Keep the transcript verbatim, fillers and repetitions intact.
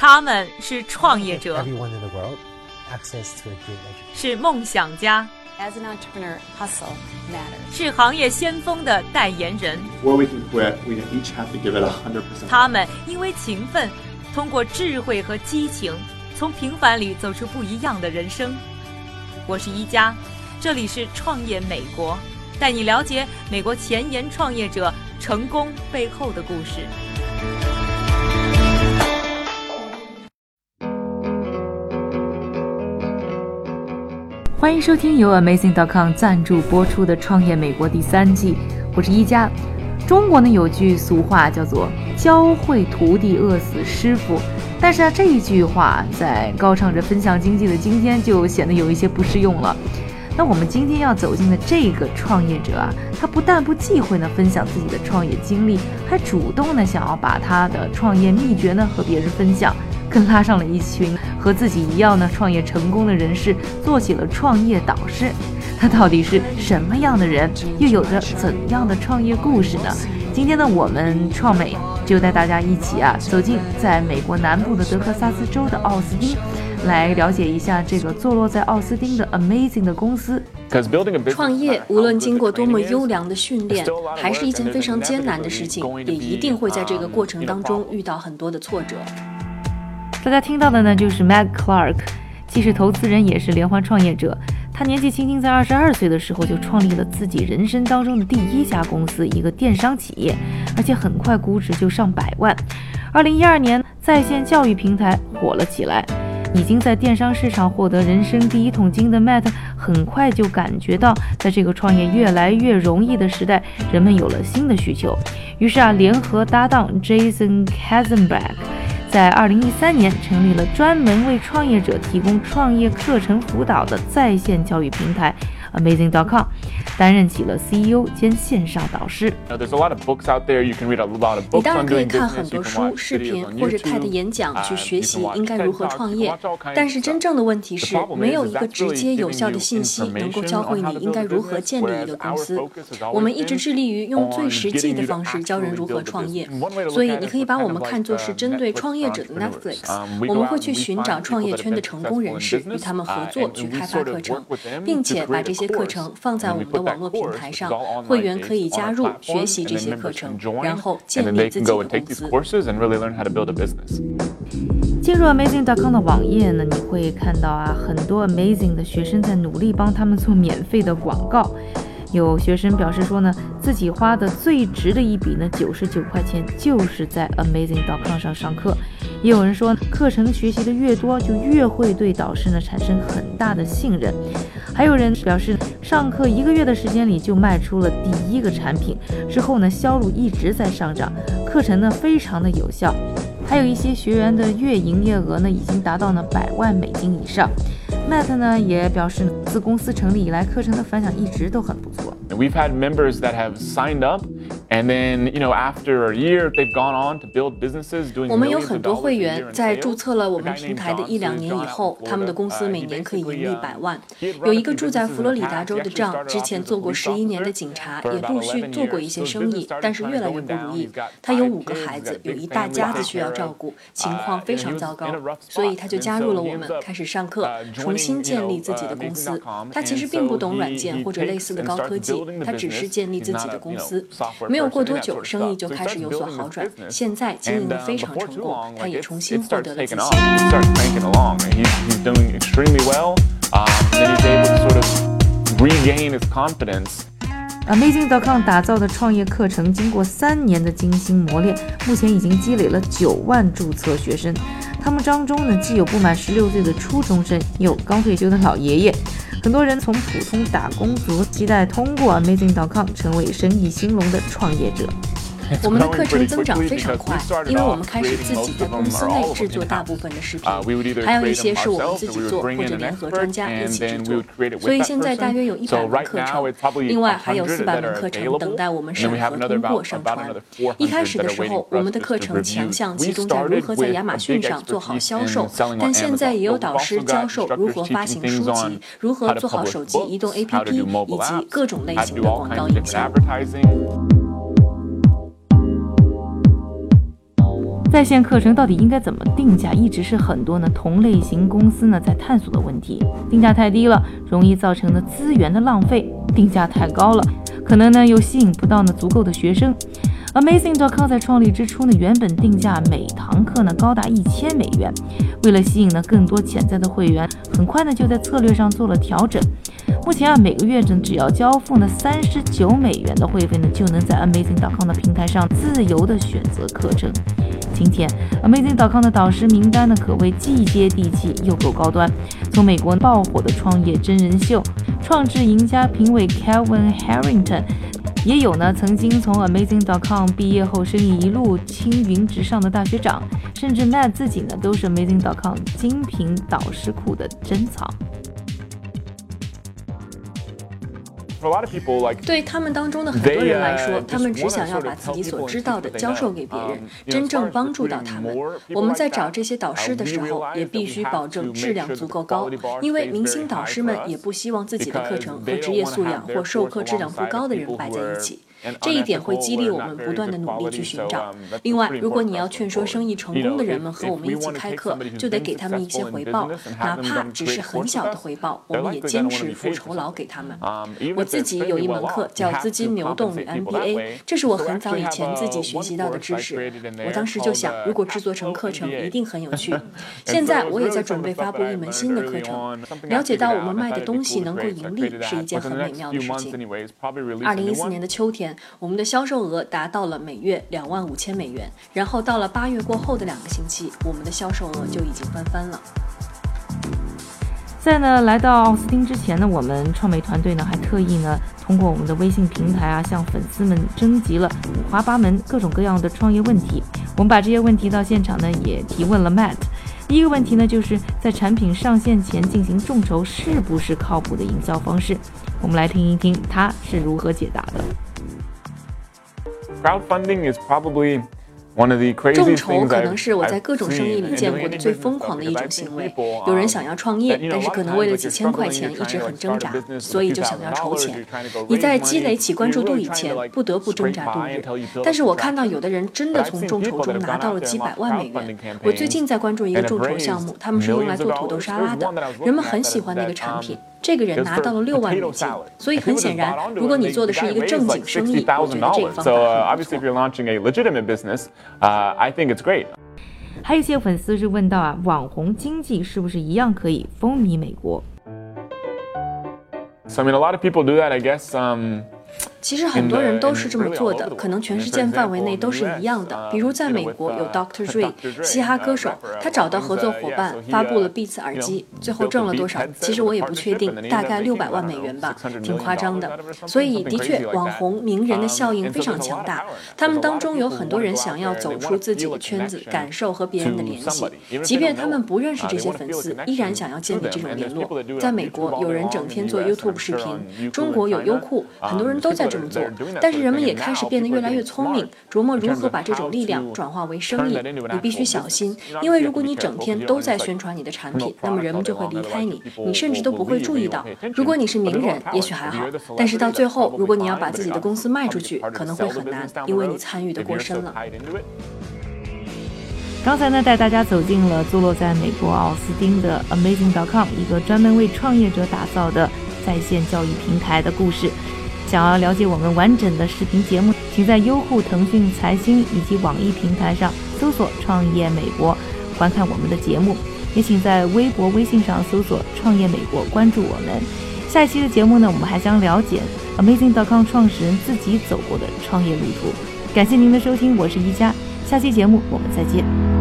他们是创业者，是梦想家，是行业先锋的代言人。他们因为勤奋，通过智慧和激情，从平凡里走出不一样的人生。我是一加，这里是创业美国，带你了解美国前沿创业者成功背后的故事。欢迎收听由 Amazing 点 com 赞助播出的《创业美国》第三季，我是一加。中国呢有句俗话叫做“教会徒弟，饿死师傅”，但是啊，这一句话在高唱着分享经济的今天就显得有一些不适用了。那我们今天要走进的这个创业者啊，他不但不忌讳呢分享自己的创业经历，还主动呢想要把他的创业秘诀呢和别人分享，更拉上了一群和自己一样呢创业成功的人士，做起了创业导师。他到底是什么样的人，又有着怎样的创业故事呢？今天呢，我们创美就带大家一起啊走进在美国南部的德克萨斯州的奥斯汀，来了解一下这个坐落在奥斯汀的 Amazing 的公司。 创业无论经过多么优良的训练，还是一件非常艰难的事情，也一定会在这个过程当中遇到很多的挫折。 大家听到的呢就是 Matt Clark， 既是投资人也是连环创业者。他年纪轻轻，在二十二岁的时候就创立了自己人生当中的第一家公司，一个电商企业，而且很快估值就上百万。二零一二年，在线教育平台火了起来，已经在电商市场获得人生第一桶金的 Matt 很快就感觉到，在这个创业越来越容易的时代，人们有了新的需求。于是啊，联合搭档 Jason Katzenbach，在二零一三年成立了专门为创业者提供创业课程辅导的在线教育平台 Amazing 点 com， 担任起了 C E O 兼线上导师。 你当然可以看很多书、视频或者看的演讲去学习应该如何创业，但是真正的问题是，没有一个直接有效的信息能够教会你应该如何建立一个公司。我们一直致力于用最实际的方式教人如何创业，所以你可以把我们看作是针对创业者的 Netflix， 我们会去寻找创业圈的成功人士，与他们合作去开发课程，并且把这些课程放在我们的网络平台上，会员可以加入学习这些课程，然后建立自己的公司。 进入 Amazing 点 com 的网页呢，你会看到啊，很多 Amazing 的学生在努力帮他们做免费的广告。有学生表示说呢，自己花的最值的一笔呢，九十九块钱就是在 Amazing 点 com 上上课。也有人说，课程学习的越多，就越会对导师呢产生很大的信任。还有人表示，上课一个月的时间里就卖出了第一个产品，之后呢销路一直在上涨，课程呢非常的有效。还有一些学员的月营业额呢已经达到了百万美金以上。Matt 呢也表示，自公司成立以来，课程的反响一直都很不错。 We've had members that have signed up, and then, you know, after a year, they've gone on to build businesses doing millions of dollars a year. 我们有很多会员在注册了我们平台的一两年以后，他们的公司每年可以盈利百万。有一个住在佛罗里达州的丈，之前做过十一年的警察，也陆续做过一些生意，但是越来越不如意。他有五个孩子，有一大家子需要照顾，情况非常糟糕，所以他就加入了我们，开始上课，重新建立自己的公司。他其实并不懂软件或者类似的高科技，他只是建立自己的公司。没有过多久，生意就开始有所好转，现在经营得非常成功，他也重新获得了自信。 Amazing 点 com 打造的创业课程，经过三年的精心磨练，目前已经积累了九万注册学生。他们当中呢，既有不满十六岁的初中生，也有刚退休的老爷爷。很多人从普通打工族，期待通过 Amazing 点 com 成为生意兴隆的创业者。 我们的课程增长非常快，因为我们开始自己在公司内制作大部分的视频，还有一些是我们自己做，或者联合专家一起制作。所以现在大约有一百门课程，另外还有四百门课程等待我们审核通过上传。一开始的时候，我们的课程强项集中在如何在亚马逊上做好销售，但现在也有导师教授如何发行书籍，如何做好手机移动 A P P， 以及各种类型的广告营销。 在线课程到底应该怎么定价，一直是很多呢同类型公司呢在探索的问题。定价太低了，容易造成呢资源的浪费；定价太高了，可能呢又吸引不到呢足够的学生。Amazing 点 com 在创立之初呢，原本定价每堂课呢高达一千美元。为了吸引呢更多潜在的会员，很快呢就在策略上做了调整。目前啊，每个月呢只要交付呢三十九美元的会费呢，就能在 Amazing 点 com 的平台上自由的选择课程。今天 Amazing 点 com 的导师名单呢，可谓既接地气又够高端。从美国爆火的创业真人秀创智赢家评委 Kevin Harrington， 也有呢曾经从 Amazing 点 com 毕业后生意一路青云直上的大学长，甚至 Matt 自己呢都是 Amazing 点 com 精品导师库的珍藏。 对他们当中的很多人来说，他们只想要把自己所知道的教授给别人，真正帮助到他们。我们在找这些导师的时候，也必须保证质量足够高，因为明星导师们也不希望自己的课程和职业素养或授课质量不高的人摆在一起。这一点会激励我们不断的努力去寻找。另外，如果你要劝说生意成功的人们和我们一起开课，就得给他们一些回报，哪怕只是很小的回报，我们也坚持付酬劳给他们。我自己有一门课叫资金流动与 M B A， 这是我很早以前自己学习到的知识。我当时就想，如果制作成课程一定很有趣。现在我也在准备发布一门新的课程。了解到我们卖的东西能够盈利是一件很美妙的事情。二零一四年的秋天，我们的销售额达到了每月两万五千美元，然后到了八月过后的两个星期，我们的销售额就已经翻番了。 在呢来到奥斯汀之前呢，我们创美团队呢还特意呢通过我们的微信平台啊，向粉丝们征集了五花八门各种各样的创业问题。我们把这些问题到现场呢也提问了 Matt。第一个问题呢，就是在产品上线前进行众筹是不是靠谱的营销方式？我们来听一听他是如何解答的。 Crowdfunding is probably 众筹可能是我在各种生意里见过的最疯狂的一种行为。有人想要创业，但是可能为了几千块钱一直很挣扎，所以就想要筹钱。你在积累起关注度以前，不得不挣扎度日。但是我看到有的人真的从众筹中拿到了几百万美元。我最近在关注一个众筹项目，他们是用来做土豆沙拉的，人们很喜欢那个产品。这个人拿到了六万美金，所以很显然，如果你做的是一个正经生意，我觉得这个方法很不错。 还有一些粉丝是问到啊，网红经济是不是一样可以风靡美国？ So I mean, a lot of people do that, I guess. Um, 其实很多人都是这么做的，可能全世界范围内都是一样的。比如在美国有 Doctor Dre 嘻哈歌手，他找到合作伙伴，发布了 Beats 耳机，最后挣了多少？其实我也不确定，大概六百万美元吧，挺夸张的。所以的确，网红名人的效应非常强大。他们当中有很多人想要走出自己的圈子，感受和别人的联系，即便他们不认识这些粉丝，依然想要建立这种联络。在美国，有人整天做 YouTube 视频，中国有优酷，很多人都在这么做，但是人们也开始变得越来越聪明，琢磨如何把这种力量转化为生意。你必须小心，因为如果你整天都在宣传你的产品，那么人们就会离开你，你甚至都不会注意到。如果你是名人，也许还好，但是到最后，如果你要把自己的公司卖出去，可能会很难，因为你参与的过深了。 刚才呢，带大家走进了坐落在美国奥斯汀的 Amazing 点 com， 一个专门为创业者打造的在线教育平台的故事。想要了解我们完整的视频节目，请在优酷、腾讯、财经以及网易平台上搜索创业美国，观看我们的节目。也请在微博、微信上搜索创业美国，关注我们。下一期的节目呢，我们还将了解 Amazing 点 com 创始人自己走过的创业路途。感谢您的收听，我是一佳，下期节目我们再见。